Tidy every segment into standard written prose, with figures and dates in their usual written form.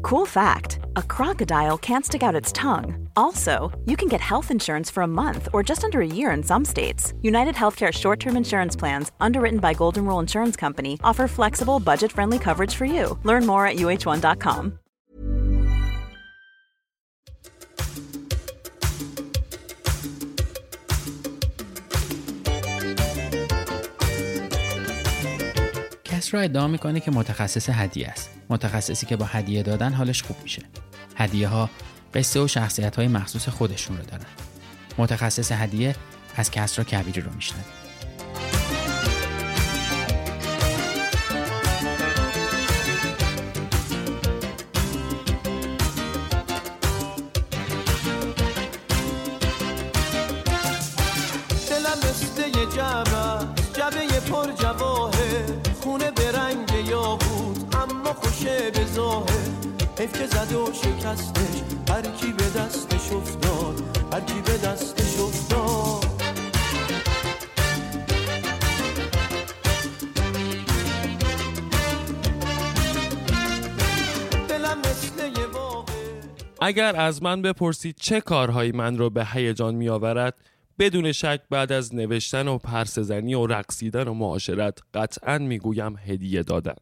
Cool fact, a crocodile can't stick out its tongue. Also, you can get health insurance for a month or just under a year in some states. United Healthcare short-term insurance plans, underwritten by Golden Rule Insurance Company, offer flexible, budget-friendly coverage for you. Learn more at uh1.com. کس را ادعا میکنه که متخصص هدیه است. متخصصی که با هدیه دادن حالش خوب میشه. هدیه ها قصه و شخصیت های مخصوص خودشون رو دارن. متخصص هدیه از کسرا کبیری رو میشنویم. دلم مثل یه جبه پر جواهر، خونه به رنگ یاقوت اما خوشه به ظاهر. حیف که زد و شکستش، هر کی به دستش افتاد، هر کی به دستش افتاد. دلم مثل یه واقع. اگر از من بپرسید چه کارهایی من رو به هیجان می آورد، بدون شک بعد از نوشتن و پرسه‌زنی و رقصیدن و معاشرت قطعاً میگویم هدیه دادن،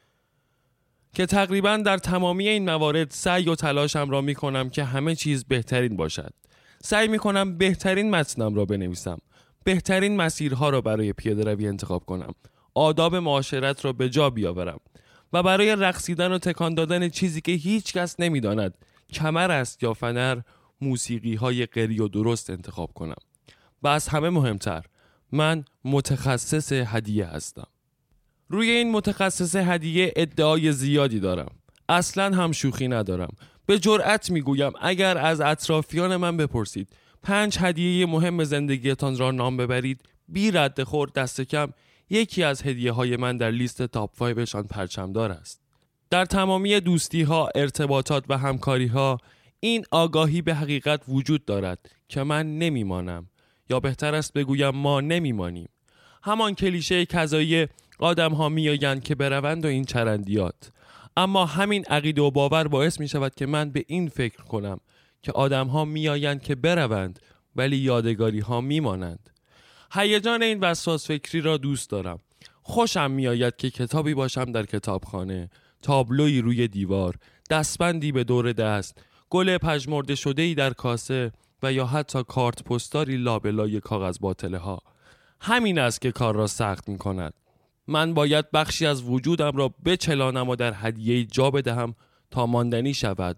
که تقریباً در تمامی این موارد سعی و تلاشم را میکنم که همه چیز بهترین باشد. سعی میکنم بهترین متنم را بنویسم، بهترین مسیرها را برای پیاده روی انتخاب کنم، آداب معاشرت را به جا بیاورم و برای رقصیدن و تکان دادن چیزی که هیچ کس نمیداند کمر است یا فنر، موسیقی های غری و درست انتخاب کنم. و از همه مهمتر، من متخصص هدیه هستم. روی این متخصص هدیه ادعای زیادی دارم. اصلاً هم شوخی ندارم. به جرئت میگویم اگر از اطرافیان من بپرسید 5 هدیه مهم زندگیتان را نام ببرید، بی رد خور دست کم یکی از هدیه های من در لیست تاپ 5 شان پرچمدار است. در تمامی دوستی ها، ارتباطات و همکاری ها این آگاهی به حقیقت وجود دارد که من نمیمانم، یا بهتر است بگویم ما نمیمانیم. همان کلیشه کذایی آدم ها میآیند که بروند و این چرندیات. اما همین عقیده و باور باعث می شود که من به این فکر کنم که آدم ها میآیند که بروند ولی یادگاری ها میمانند. هیجان این وسواس فکری را دوست دارم. خوشم میآید که کتابی باشم در کتابخانه، تابلویی روی دیوار، دستبندی به دور دست، گل پژمرده شده‌ای در کاسه و یا حتی کارت پستاری لابلای کاغذ باطله ها. همین است که کار را سخت می کند. من باید بخشی از وجودم را بچلانم و در هدیه جا بدهم تا ماندنی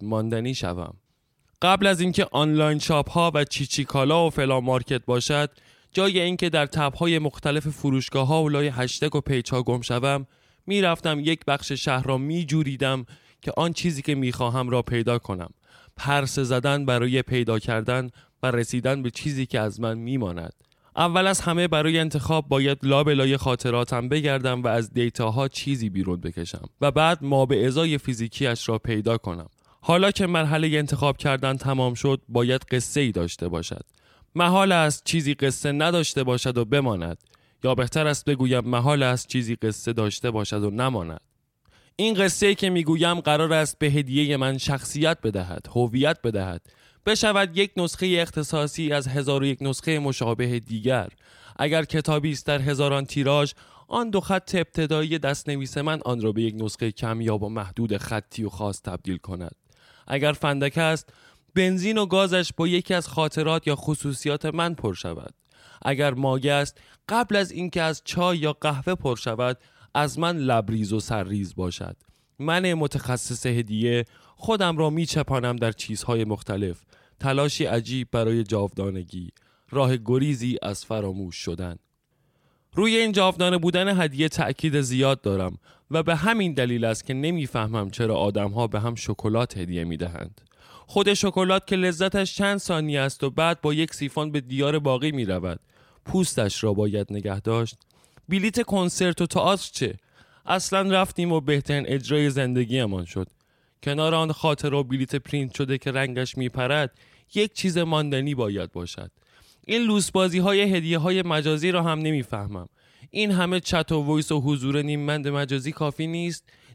شوم. قبل از اینکه آنلاین شاپ ها و چیچی کالا و فلا مارکت باشد، جای اینکه در تب های مختلف فروشگاه ها و لای هشتگ و پیج ها گم شوم، می رفتم یک بخش شهر را می جوریدم که آن چیزی که می خواهم را پیدا کنم. پرسه زدن برای پیدا کردن و رسیدن به چیزی که از من میماند. اول از همه برای انتخاب باید لابلای خاطراتم بگردم و از دیتاها چیزی بیرون بکشم و بعد ما به ازای فیزیکیش را پیدا کنم. حالا که مرحله انتخاب کردن تمام شد، باید قصه ای داشته باشد. محال است چیزی قصه نداشته باشد و بماند، یا بهتر است بگویم محال است چیزی قصه داشته باشد و نماند. این قصه‌ای که میگویم قرار است به هدیه من شخصیت بدهد، هویت بدهد، بشود یک نسخه اختصاصی از 1001 نسخه مشابه دیگر. اگر کتابی است در هزاران تیراژ، آن 2 خط ابتدایی دست‌نویس من آن را به یک نسخه کمیاب و محدود خطی و خاص تبدیل کند. اگر فندک است، بنزین و گازش با یکی از خاطرات یا خصوصیات من پر شود. اگر مایه است، قبل از اینکه از چای یا قهوه پر شود، از من لبریز و سرریز باشد. من متخصص هدیه خودم را می چپانم در چیزهای مختلف، تلاشی عجیب برای جاودانگی، راه گریزی از فراموش شدن. روی این جاودانه بودن هدیه تأکید زیاد دارم و به همین دلیل است که نمیفهمم چرا آدم‌ها به هم شکلات هدیه میدهند. خود شکلات که لذتش چند ثانیه است و بعد با یک سیفون به دیار باقی می رود. پوستش را باید نگه داشت. بلیت کنسرت و تئاتر چه؟ اصلا رفتیم و بهترین اجرای زندگیمان شد. کنار آن خاطر و بلیت پرینت شده که رنگش می پرد، یک چیز ماندنی باید باشد. این لوسبازی های هدیه های مجازی را هم نمیفهمم. این همه چت و وایس و حضور نیممند مجازی کافی نیست.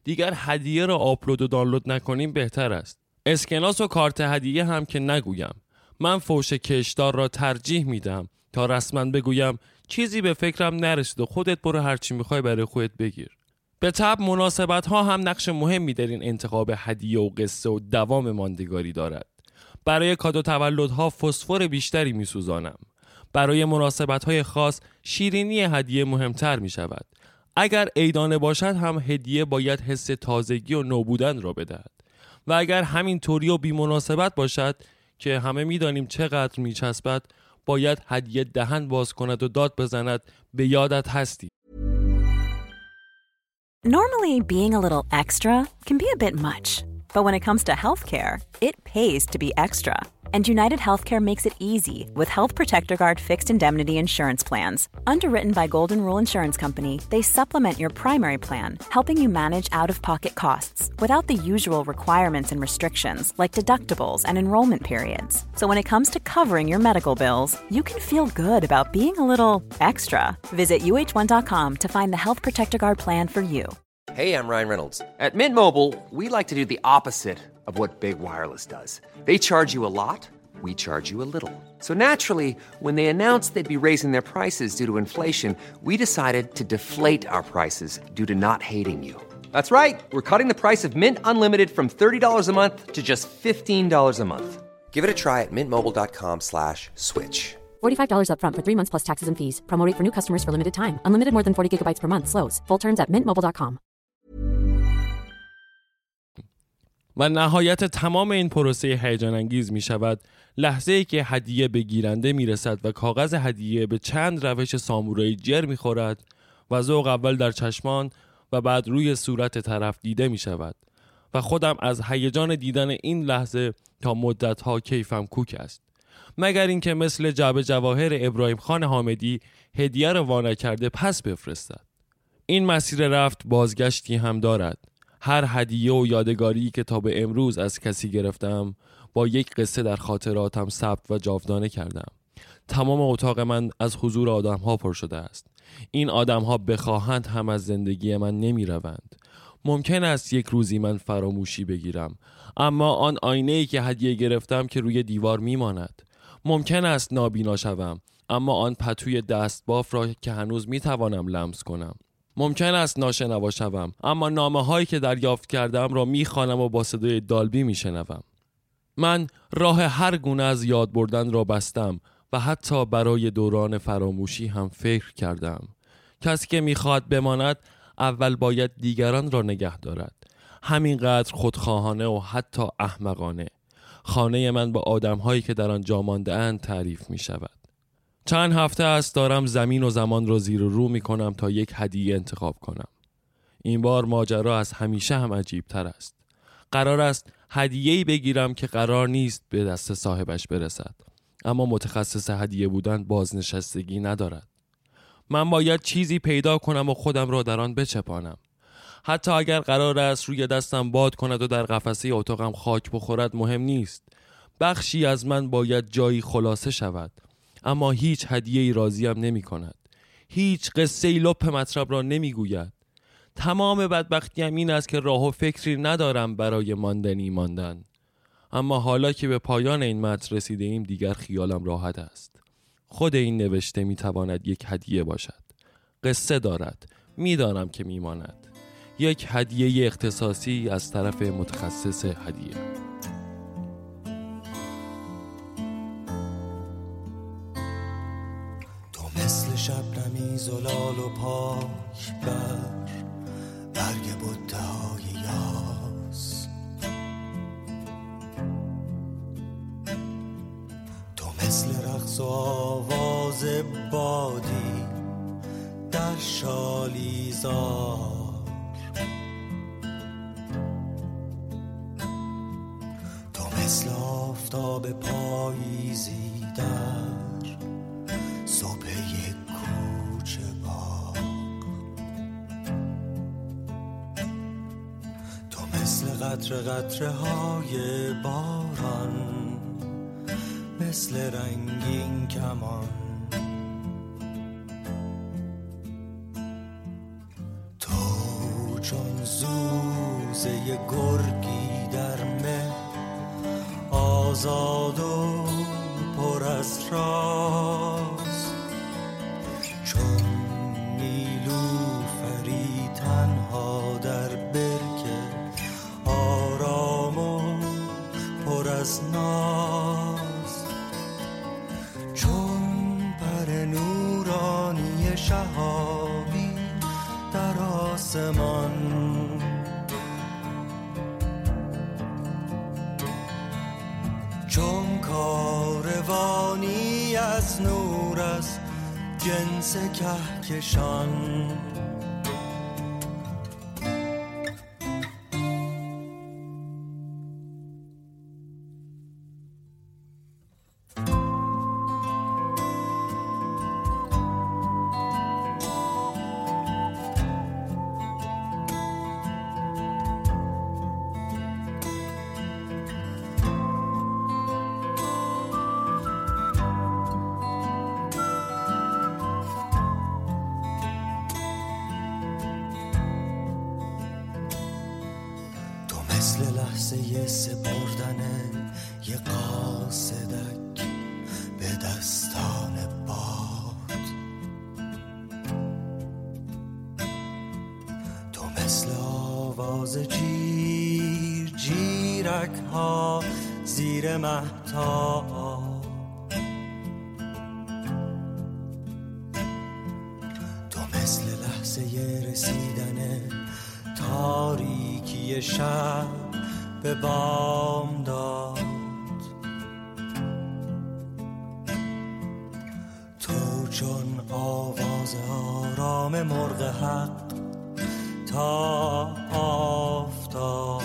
دیگر هدیه را آپلود و دانلود نکنیم بهتر است. اسکناس و کارت هدیه هم که نگویم. من فوش کشدار را ترجیح میدم تا رسما بگویم چیزی به فکرم نرسید و خودت برو هرچی میخوای برای خودت بگیر. به طبع مناسبت ها هم نقش مهمی در این انتخاب هدیه و قصه و دوام ماندگاری دارد. برای کادو تولدها فسفر بیشتری میسوزانم. برای مناسبت های خاص شیرینی هدیه مهمتر می شود. اگر عیدانه باشد هم هدیه باید حس تازگی و نوبودن را بدهد و اگر همین طوری و بی مناسبت باشد که همه می دانیم چقدر می چسبد، باید هدیه دهن باز کند و داد بزند به یادت هستی. Normally, being a little extra can be a bit much, but when it comes to healthcare, it pays to be extra. And United Healthcare makes it easy with Health Protector Guard fixed indemnity insurance plans. Underwritten by Golden Rule Insurance Company, they supplement your primary plan, helping you manage out-of-pocket costs without the usual requirements and restrictions like deductibles and enrollment periods. So when it comes to covering your medical bills, you can feel good about being a little extra. Visit uh1.com to find the Health Protector Guard plan for you. Hey, I'm Ryan Reynolds. At Mint Mobile, we like to do the opposite of what Big Wireless does. They charge you a lot, we charge you a little. So naturally, when they announced they'd be raising their prices due to inflation, we decided to deflate our prices due to not hating you. That's right. We're cutting the price of Mint Unlimited from $30 a month to just $15 a month. Give it a try at mintmobile.com/switch. $45 up front for 3 months plus taxes and fees. Promo rate for new customers for limited time. Unlimited more than 40 gigabytes per month. Slows full terms at mintmobile.com. و نهایت تمام این پروسه هیجان انگیز می شود لحظه‌ای که هدیه به گیرنده می رسد و کاغذ هدیه به چند روش سامورایی جر می خورد و ذوق اول در چشمان و بعد روی صورت طرف دیده می شود و خودم از هیجان دیدن این لحظه تا مدت‌ها کیفم کوک است. مگر اینکه مثل جعبه جواهر ابراهیم خان حامدی هدیه را وا نکرده پس بفرستد. این مسیر رفت بازگشتی هم دارد. هر هدیه و یادگاری که تا به امروز از کسی گرفتم با یک قصه در خاطراتم ثبت و جاودانه کردم. تمام اتاق من از حضور آدم‌ها پر شده است. این آدم‌ها بخواهند هم از زندگی من نمی روند. ممکن است یک روزی من فراموشی بگیرم، اما آن آینه‌ای که هدیه گرفتم که روی دیوار میماند. ممکن است نابینا شوم، اما آن پتوی دستباف را که هنوز میتوانم لمس کنم. ممکن است ناشنوا شوم، اما نامه‌هایی که دریافت کردم را میخوانم و با صدای دالبی میشنوم. من راه هر گونه از یاد بردن را بستم و حتی برای دوران فراموشی هم فکر کردم. کسی که میخواد بماند اول باید دیگران را نگه دارد. همینقدر خودخواهانه و حتی احمقانه. خانه من با آدم‌هایی که در آن جا مانده‌اند تعریف می‌شود. چند هفته است دارم زمین و زمان را زیر و رو می‌کنم تا یک هدیه انتخاب کنم. این بار ماجرا از همیشه هم عجیب‌تر است. قرار است هدیه‌ای بگیرم که قرار نیست به دست صاحبش برسد. اما متخصص هدیه بودن بازنشستگی ندارد. من باید چیزی پیدا کنم و خودم را در آن بچپانم. حتی اگر قرار است روی دستم باد کند و در قفسه اتاقم خاک بخورد مهم نیست. بخشی از من باید جایی خلاصه شود. اما هیچ هدیه‌ای راضیم نمی کند. هیچ قصه‌ای لپ مطلب را نمی گوید. تمام بدبختیم این است که راه و فکری ندارم برای ماندن. اما حالا که به پایان این متن رسیده ایم دیگر خیالم راحت است. خود این نوشته می تواند یک هدیه باشد. قصه دارد. می دانم که می ماند. یک هدیه اختصاصی از طرف متخصص هدیه. تو مثل شبنمی زلال و پاک بر برگ بوته‌های یاس، تو مثل رقص و آواز بادی در شالیزار، تو مثل آفتاب پاییزی در صبح یک کوچه باغ، تو مثل قطره های باران، مثل رنگین کمان، تو چون زور گرگی در مه، آزاد و پر از راز، چون نیلوفری تنها در برکه، آرام و پر از ناز، چون پر نورانی شهابی در آسمان، چون کاروانی از نور از جنس کهکشان. مثل لحظه سپردن یه قاصدک به دستان باد، تو مثل آواز جیر جیرک ها زیر مهتاب، تو مثل لحظه رسیدن تاریکی شب به بامداد، تو چون آواز آرام مرغ حق تا آفتاب،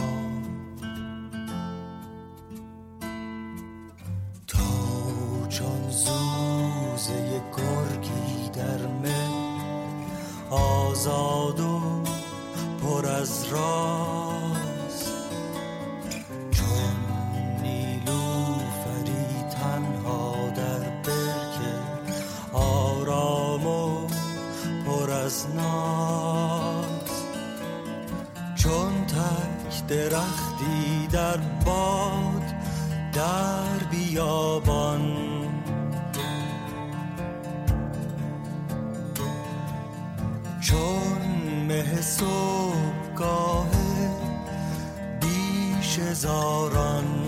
تو چون زوزه گرگی در مه، آزاد و پر از راز، چون نیلوفری تنها در برکه، آرام و پر از ناز، چون تک درختی در باد در بیابان، چون مه صبحگاه بیش هزاران.